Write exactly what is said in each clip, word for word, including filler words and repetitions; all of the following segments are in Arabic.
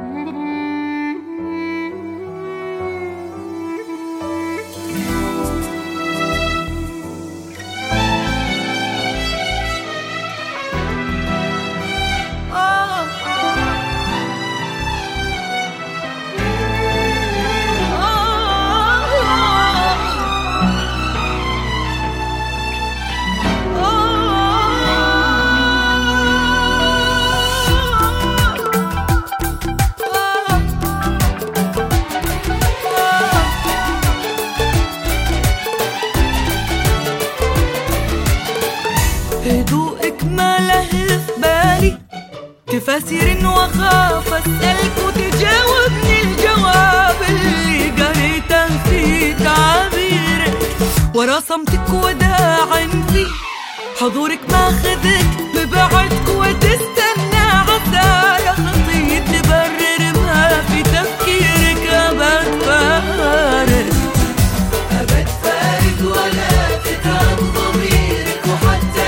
هدوءك ما له في بالي، تفاسير واخاف اسالك وتجاوبني الجواب اللي قريته في تعابيرك، ورا صمتك وداع فيه حضورك ماخذك ببعدك وتستنى عسى يا خطي تبرر ما في تفكيرك. ابد فارق ابد فارق ولا تتعب ضميرك، وحتى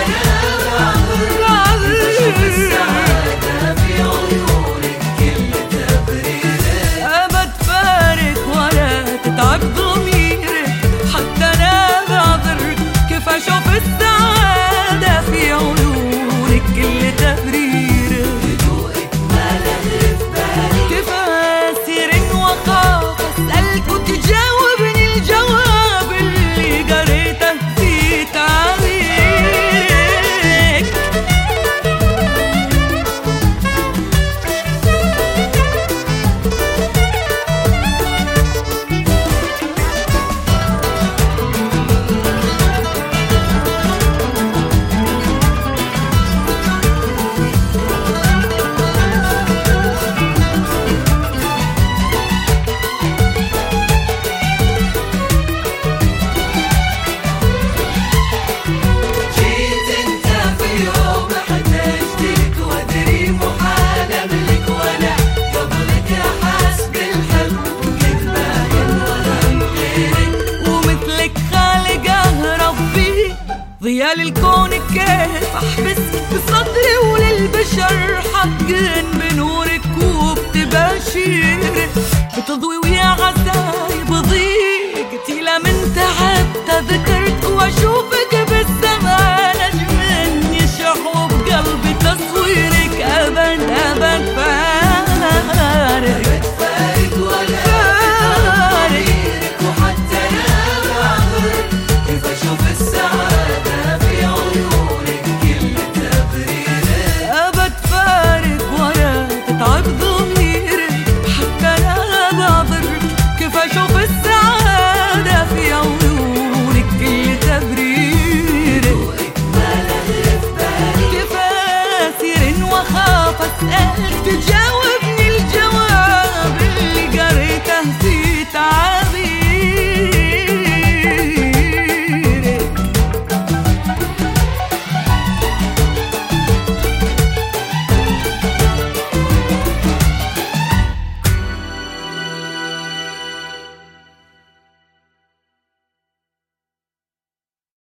شوف السعادة في عيونك كل تبرير. هدوءك ما له في بالي، تفاسير وخاف اسألك وتجاوبني الجواب اللي قريته في تعابيرك. ضياء للكون كيف احبس بصدري وللبشر حقن بنورك وبتباشيرك، بتضوي ويا عزاي بضيق قتيلة من تعب تذكرت واشوفك بالسنة